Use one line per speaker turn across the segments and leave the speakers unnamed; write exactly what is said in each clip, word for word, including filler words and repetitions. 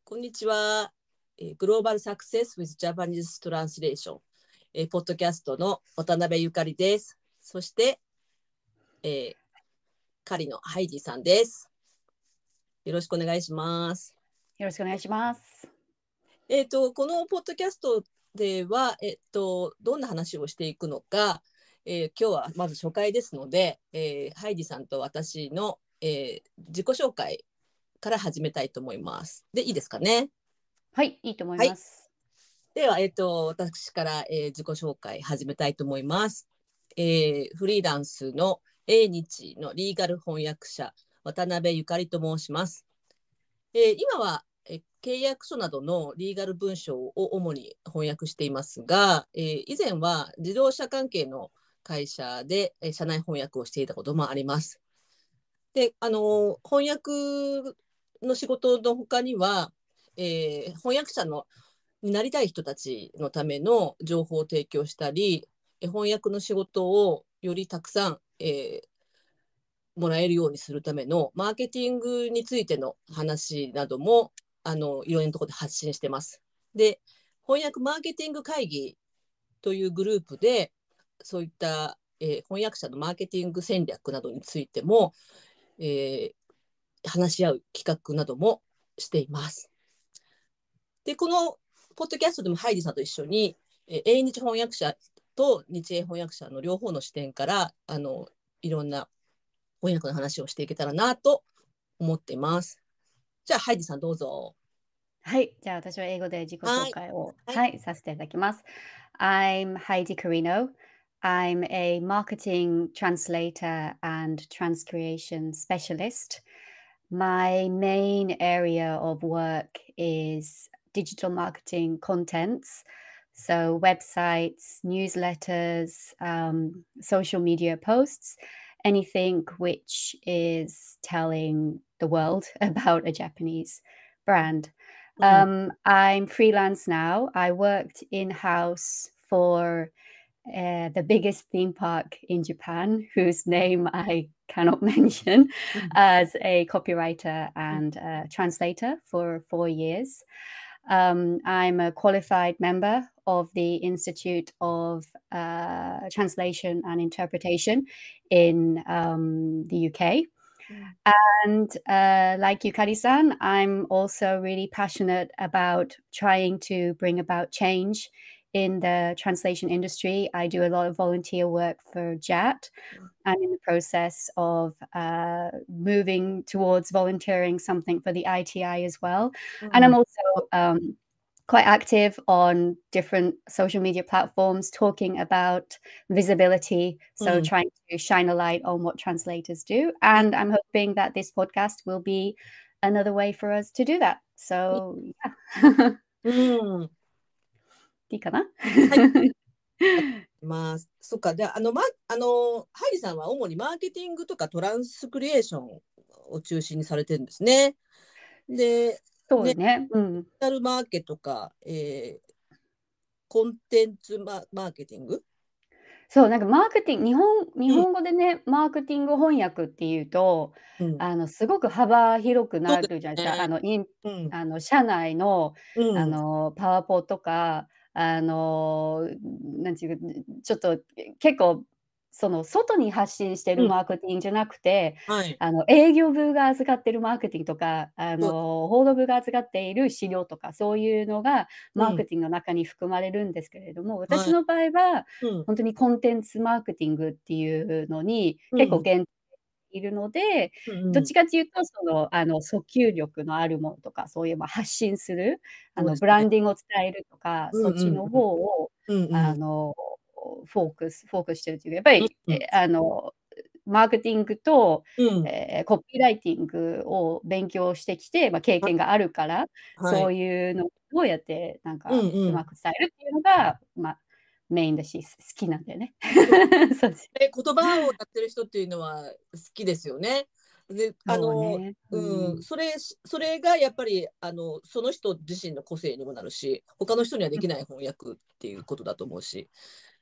こんにちは。えーグローバルサクセス with Japanese Translation、えーポッドキャストの渡辺ゆかりです。そして、えー、カリのハイジさんです。よろしくお願いします。
よろしくお願いします。
えっと、このポッドキャストでは、えっと、どんな話をしていくのか、えー今日はまず初回ですので、えーハイジさんと私の、えー自己紹介から始めたいと思います。で、いいですかね。
はい、いいと思い
はい。
ます。
では、えっと、私から、えー自己紹介始めたいと思います。えーフリーランスの英日のリーガル翻訳者、渡辺ゆかりと申します。えー今は、えー契約書などのリーガル文章を主に翻訳していますが、えー以前は自動車関係の会社で、えー社内翻訳をしていたこともあります。で、あの翻訳の仕事の他には、えー翻訳者のになりたい人たちのための情報を提供したり、翻訳の仕事をよりたくさん、えーもらえるようにするためのマーケティングについての話などもあのいろんなところで発信してます。で、翻訳マーケティング会議というグループでそういった、えー翻訳者のマーケティング戦略などについても、えー話し合う企画などもしています。で、このポッドキャストでもハイディさんと一緒に、えー英日翻訳者と日英翻訳者の両方の視点からあのいろんな翻訳の話をしていけたらなと思っています。じゃあ、ハイディさんどうぞ。
はい、じゃあ私は英語で自己
はい。
紹介を、
はい。
はい、させていただきます。I'm Heidi Carino. I'm a marketing translator and transcreation specialist. My main area of work is digital marketing contents. So, websites, newsletters, um, social media posts, anything which is telling the world about a Japanese brand.
うん。
Um, I'm freelance now. I worked in house for uh, the biggest theme park in Japan, whose name I cannot mention,
うん。
as a copywriter
うん。
and uh, translator for four years. Um, I'm a qualified member of the Institute of uh, Translation and Interpretation in um, the U K.
うん。
And uh, like Yukari-san, I'm also really passionate about trying to bring about change in the translation industry. I do a lot of volunteer work for J A T. I'm in the process of uh, moving towards volunteering something for the I T I as well.
う
And I'm
ん。
also um, quite active on different social media platforms talking about visibility.
う
So
ん。
trying to shine a light on what translators do.
はい。
And I'm hoping that this podcast will be another way for us to do that. So yeah.
うん。
いいかな？
はい。まあ、そっか。で、あの、ま、あの、ハイディさんは主にマーケティングとかトランスクリエーションを中心にされてるんですね。で、ね、デジ
そうね。うん。
タルマーケとか、えーコンテンツマ、マーケティング。
そう、なんかマーケティング日本日
うん。
本語でね、マーケティング翻訳っていうと、
うん。
あの、すごく幅広くな
そうで
るじゃないですか。あ
すね。
の、イン
うん。
あの、社内の、あ
うん。
の、パワポとか、あの、なんていうか、ちょっと、結構、その、外に発信してる
うん。
マーケティングじゃなくて、
はい。
あの、営業部が預かってるマーケティングとか、あ
そう。
の、報道部が預かっている資料とか、そういうのがマー
うん。
ケティングの中に含まれるんですけれども、私
はい。
の場合は
うん。
本当にコンテンツマーケティングっていうのに
うん。
結構限定いるので、
うん。
どっちかっていうと、その、あの、訴求力のあるものとか、そういう、ま、発信する、あの、
そうですね。
ブランディングを伝えるとか、
うんうん
そっちの方を、
うん。うんうん。
あの、フォークスフォークスしてるっていうか、やっぱり、
うん。
え、あの、マーケティングと、
うん。
ええ、コピーライティングを勉強してきて、ま、経
は
験があるから、
はい。
そういうのをどうやってなんか
うんうん。
うまく伝えるっていうのが、ま、メインだし、す好きなんだよね。
そう
そうです。
で、言葉をやってる人っていうのは好きですよね。で、あの、
そうね。う
うん、
ん。
それそれがやっぱり、あの、その人自身の個性にもなるし、他の人にはできない翻訳っていうことだと思うし。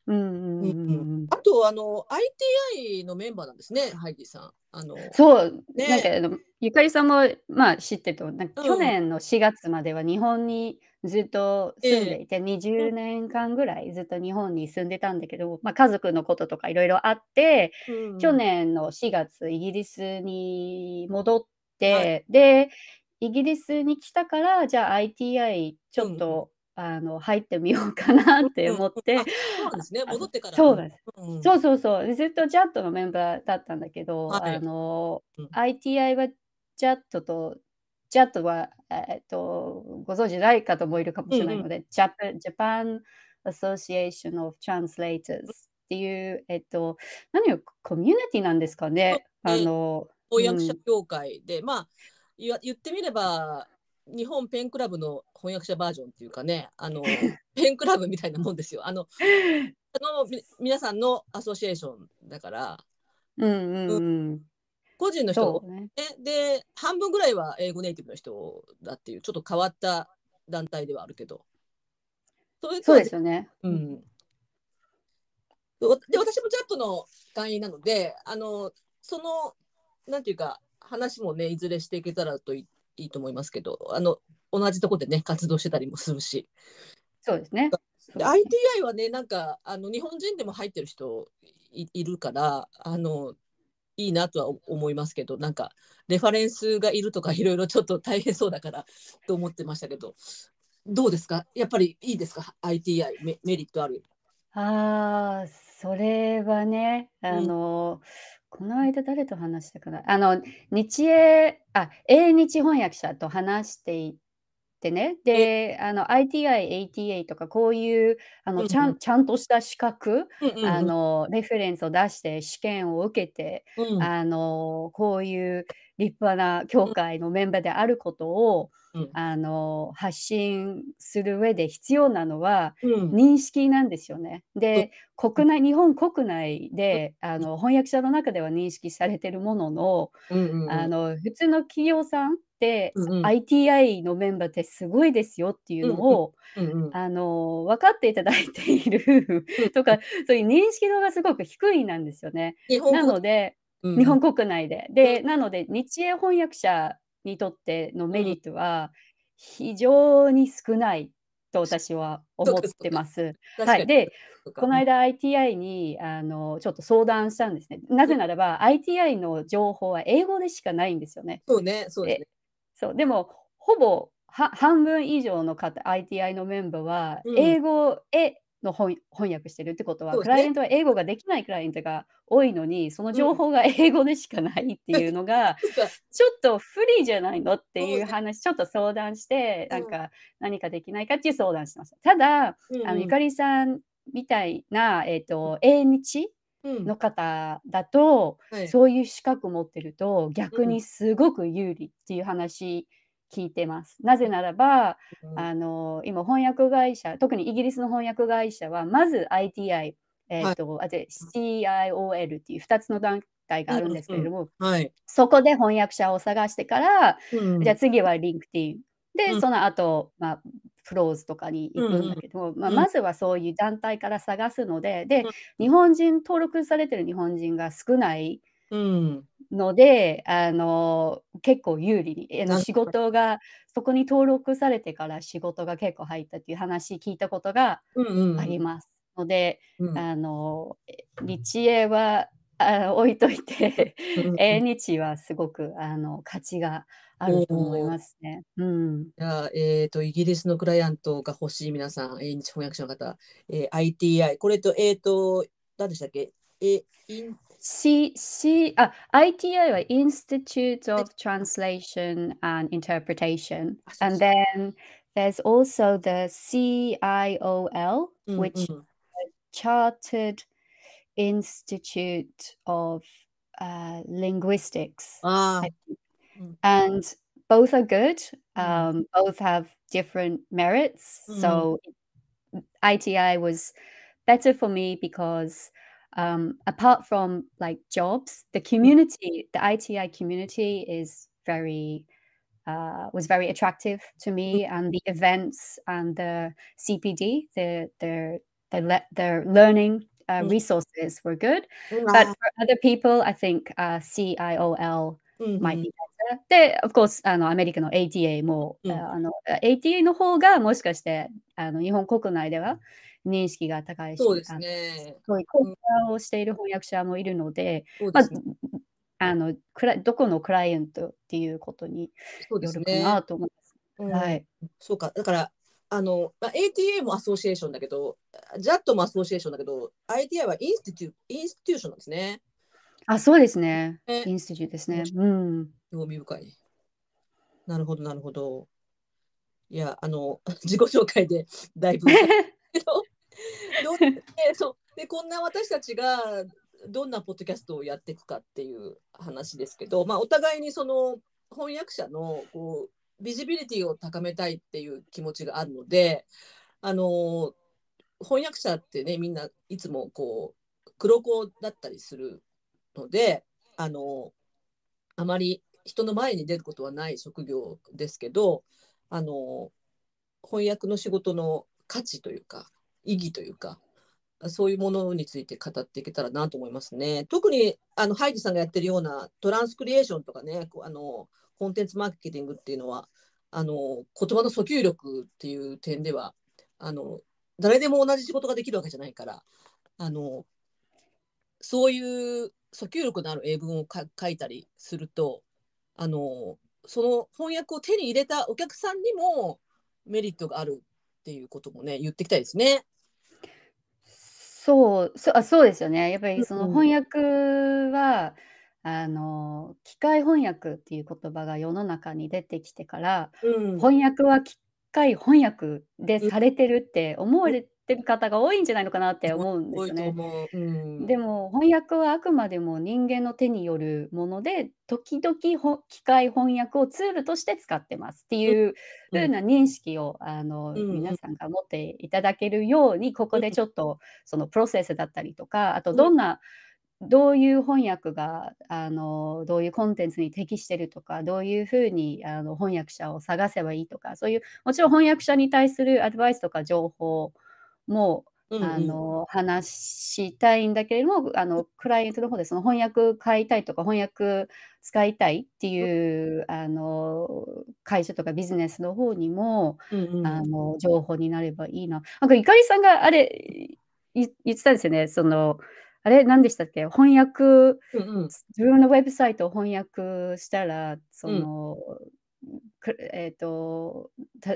うんうん
うん
う
うん
んうん。
あと、あの、アイティーアイ のメンバーなんですね、ハイディさん。あの、
そう、なんか
ね。
あの、ゆかりさんも、まあ、知ってると、なんか去
うん。
年のしがつまでは日本にずっと住ん
ええ。
でいて、20
うん。
年間ぐらいずっと日本に住んでたんだけど、ま、家族のこととかいろいろあって、去
うんうん。
年のしがつイギリスに戻っ
はい。
て、で、イギリスに来たから、じゃあ アイティーアイ ち
うんうん。
ょっと、あの、入ってみようかなって
うんうん。
思って、
あ、そうなんですね。
あ、
戻ってから。うん。
そうなんです。
うんうん。
そうそうそう。で、ずっと ジャット のメンバーだったんだけど、あ
はい。
の、
うん。
アイティーアイ は ジャット と ジャット は、えっと、ご存知ない方もいるかも
うんうん。
しれないので、ジャパ Japan Association of Translators
うん。
っていう、えっと、何をコミュニティなんですか
そう
ね。あ
ね。
の、う
翻訳者
ん。
協会で、まあ、いわ言ってみれば、日本ペンクラブの翻訳者バージョンっていうかね、あの、ペンクラブみたいなもんですよ。あの、あの、み皆さんのアソシエーションだから、
うんう
うん、
んうん。
個人の人が多
そうね。
いね。で、半分ぐらいは英語ネイティブの人だっていう、ちょっと変わった団体ではあるけど、それと
そう
はぜ
ですよね。うん。
うん。わで、私もジャットの会員なので、あの、その、なんていうか、話もね、いずれしていけたらといいいと思いますけど、あの、同じとこでね、活動してたりもするし。
そうですね。そう
で、
ですね。
アイティーアイ はね、なんか、あの、日本人でも入ってる人いいるから、あの、いいなとは思いますけど、なんか、レファレンスがいるとか、いろいろちょっと大変そうだからと思ってましたけど、どうですかやっぱりいいですか ?アイティーアイ メ、メリットある。
ああ、それはね、あ
うん。
の、この間誰と話したかな。あの、日英あ、英日翻訳者と話していてね、
え、
で、あの、アイティーアイ、エーティーエー とかこういう、あの、ちゃ
うんうん。
んちゃんとした資格、
うんうんうん。
あの、レフェレンスを出して試験を受けて、
うん。
あの、こういう立派な協
うん
会のメンバーであることを、
うん。
あの、発信する上で必要なのは
うん。
認識なんですよね。
そう。
で、
うん
国内日本国内で、あ
うん。
の、翻訳者の中では認識されてるものの、
うんうんうん。
あの、普通の企業さんって、
うんうん。
アイティーアイ のメンバーってすごいですよっていう
うんうん。
のを、
うんうん。
あの、分かっていただいている
うん。
とか、そういう認識度がすごく低いなんですよね。な
日本国
ので
うんうん。
日本国内で。
うん。
で、なので、日英翻訳者にとっての
うん。
メリットは非常に少ないと私は思っ
そうかそうか。
てます。はい。
確かに。
で、
そうか。うん。
この間 アイティーアイ にあの、ちょっと相談したんですね。な
うん。
ぜならば、アイティーアイ の情報は英語でしかないんですよね。
そうね、そうです
で
ね。
そう、でも、ほぼ、は半分以上の方 アイティーアイ のメンバーは、
うん。
英語への翻翻訳してるってことは、
そうですね。
クライアントは英語ができないクライアントが多いのに、その
うん。
情報が英語でしかないっていうのが、
そっか。
ちょっと不利じゃないのって
そうね。
いう話、ちょっと相談して、なん
うん。
か、何かできないかっていう相談してました。ただ、あの、ゆ
うんうん。
かりさんみたいな、えっと、英日
うん。
の方だと、
はい。
そういう資格持ってると、
うん。
逆にすごく有利っていう話聞いてます。なぜならば、
うん。
あの、今翻訳会社、特にイギリスの翻訳会社は、まず アイティーアイ、え
はい。
っと、あ、で、シーアイオーエル っていうふたつの団体が
うん
あるんですけ
うん。
れども、
はい。
そこで翻訳者を探してから、
う
じゃあ
ん。
次は LinkedIn。で、
うん。
その後、まあ、プローズとかに行くん
うんうん。
だけど、まあ、
うん。
まずはそういう団体から探すので、で、
うん。
日本人登録されてる日本人が少ない
うん。
ので、あの、結構有利に、あの、仕
なるほど。
事がそこに登録されてから仕事が結構入ったっていう話聞いたことが
うんうんうん。
あります。ので、
うん。
あの、え、日英は、あ、置いといて、
うんうんうん。
英日はすごく、あの、価値があ
お
ると思い
お。
ますね。うん。
じゃあ、えっと、イギリスのクライアントが欲しい皆さん、英日翻訳者の方、えー アイティーアイ、これと、えっと、何でしたっけえ、イン、
C C あ、アイティーアイ は Institute
はい、
of Translation and Interpretation,
あ、そう
and
そう。
then there's also the C I O L,
うんう
which
ん。
Chartered Institute of uh, Linguistics,
あ
I
あ、うん、
and both are good.
うん、
Um, both have different merits.
うん、
So I T I was better for me because um, apart from like jobs, the
うん、
community, the I T I community is very uh, was very attractive to
うん、
me, and the events and the C P D, the the their, le- their learning uh,
うん。
resources were good.
うん、
But
あ
for other people, I think uh, C I O L
ー、うん、
might
うん、
be better. で、of course、あのアメリカの エーティーエー も、
うん。
ああの エーティーエー の方がもしかしてあの日本国内では認識が高いし、
そうです
あの
ね。
そういう講
うん、
座をしている翻訳者もいるので、まあ、
そうですね。
あのクラどこのクライアントっていうことに
そうで
よるか
すね。
なと思います。
うん、
はい。
そうか。だから、あの、まあ、エーティーエー もアソシエーションだけど、ジャット もアソシエーションだけど、アイティーアイ はインスティテュ、インスティテューションなんですね。
あ、そうですね。
ね、
インスティテューですね。
面白
うん。
い、興味深い。なるほど、なるほど。いや、あの、自己紹介でだいぶけど、どうでそうで、こんな私たちがどんなポッドキャストをやっていくかっていう話ですけど、まあ、お互いにその翻訳者のこうビジビリティを高めたいっていう気持ちがあるので、あの翻訳者ってね、みんないつもこう黒子だったりするので、あのあまり人の前に出ることはない職業ですけど、あの翻訳の仕事の価値というか意義というか、そういうものについて語っていけたらなと思いますね。特にあのハイジさんがやってるようなトランスクリエーションとかね、あのコンテンツマーケティングっていうのは、あの言葉の訴求力っていう点では、あの誰でも同じ仕事ができるわけじゃないから、あのそういう訴求力のある英文をか書いたりすると、あのその翻訳を手に入れたお客さんにもメリットがあるっていうこともね、言っていきたいですね。
そう、そあ、そうですよね。やっぱりその
うん、
翻訳は、あの、機械翻訳っていう言葉が世の中に出てきてから、
うん、
翻訳は機械翻訳で
うん、
されてるって思われてる方が多いんじゃないのかなって思うんで
多い
すよね。
と思う。うん、
でも翻訳はあくまでも人間の手によるもので、時々ほ機械翻訳をツールとして使ってますって
うん、
いう
うん、
風な認識をあの
うん、うん、
皆さんが持っていただけるように、ここでちょっとそのプロセスだったりとか、あと
うん、
どんなどういう翻訳があのどういうコンテンツに適してるとか、どういう風にあの翻訳者を探せばいいとか、そういうもちろん翻訳者に対するアドバイスとか情報も
うん、
あ
うん、
の話したいんだけれども、あのクライアントの方でその翻訳買いたいとか、翻訳使いたいっていうあの会社とかビジネスの方にも
うん、うん、
あの情報になればいいな。なんかゆかりさんがあれい言ってたんですよね。そのあれ何でしたっけ？翻訳
うん、うん、
自分のウェブサイトを翻訳したら、そ
うん。
のくえっと、た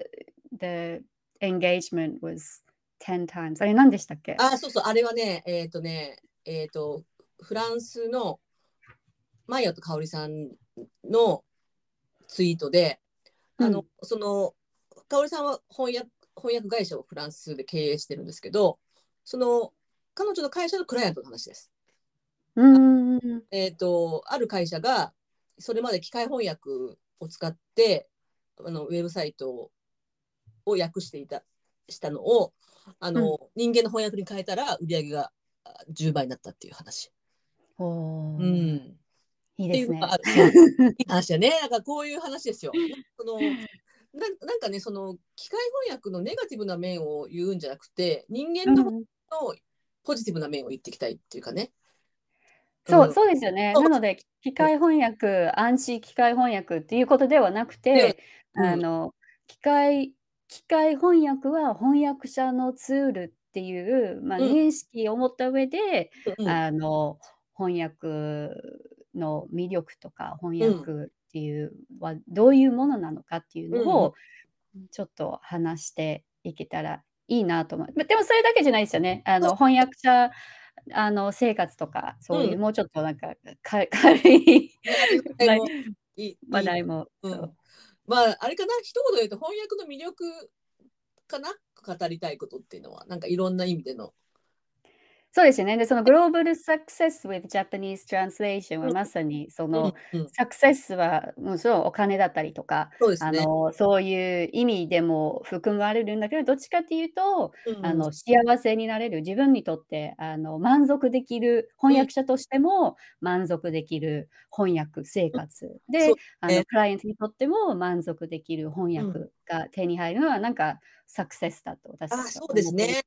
the engagement was ten times あれ何でしたっけ？
あ、そうそう、あれはね、えっとね、えっと、フランスのマイヤと香織さんのツイートで、あの、
うん、
その、香織さんは翻訳、翻訳会社をフランスで経営してるんですけど、その、彼女の会社のクライアントの話です。
うーん、
えっと、ある会社が、それまで機械翻訳を使って、あのウェブサイトを訳していたしたのをあ
うん。
の人間の翻訳に変えたら売り上げがじゅうばいになったっていう話。
お
う
お、
ん、っていうのが
いいですね。
ある。そう、いい話だね。なんかこういう話ですよ。そのななんかね、その機械翻訳のネガティブな面を言うんじゃなくて、人間の
うん。
のポジティブな面を言っていきたいっていうかね。う
そう、
ん、
そうですよね。
そう
なので、機械翻訳、暗視機械翻訳っていうことではなく
では、
て、
うん、
あの、機械機械翻訳は翻訳者のツールっていう、まあ、
うん、
認識を持った上で、
うん、
あの、翻訳の魅力とか、翻
うん、
訳っていうはどういうものなのかっていう
うん、うん、
のをちょっと話していけたらいいなと思う。ま、でもそれだけじゃないですよね。あ
そう、
の、翻訳者あの、生活とか、そう
うん、
いうもうちょっとなんか、か軽い
ね、あれぐらい
話題
もいい、いい、
話題も、そう。
うん。まあ、あれかな、一言で言うと翻訳の魅力かな、語りたいことっていうのは、なんかいろんな意味での。
そうですよね。で、その Global Success with Japanese Translation は
うん、
まさにそ
うん、
の
うん。
サクセスはもちろんお金だったりとか、
そうですね。
あの、そういう意味でも含まれるんだけど、どっちかっていうと、
うん、うん、
あの、幸せになれる、自分にとってあの、満足できる翻
うん、
訳者としても満足できる翻訳生
うん、
活
そう
で、あの、
ね。
クライアントにとっても満足できる翻
うん。
訳が手に入るのはなんかサクセスだと私た
あ、
ちは
そうで
思ってる。
すね。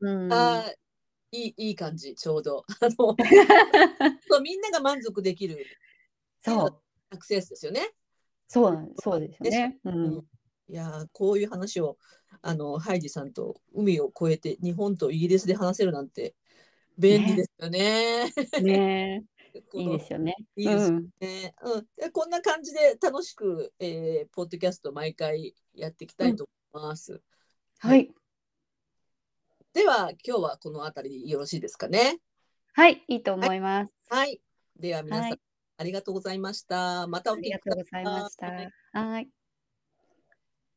うん。
あーいい、いい感じ、ちょうど。あのそうみんなが満足できるっていうのが
そう。
サクセスですよね。
そうなんそうですよ
ねしか
ね。う
うん、
ん。
いやーこういう話をあのハイジさんと海を越えて日本とイギリスで話せるなんて便利で
ね。
すよね。
ね。
この
いいですよね。
いいですよ
うん。
ね。うん、でこんな感じで楽しく、えーポッドキャスト毎回やっていきた
うん。
いと思います。はい。
はい。
では今日はこの辺りでよろしいですかね。
はい、いいと
はい。
思います。
はい。では皆さん
はい。
ありがとうございました。またお
あり
聞きくだ
がとうございま
さ
した。
い。
はい。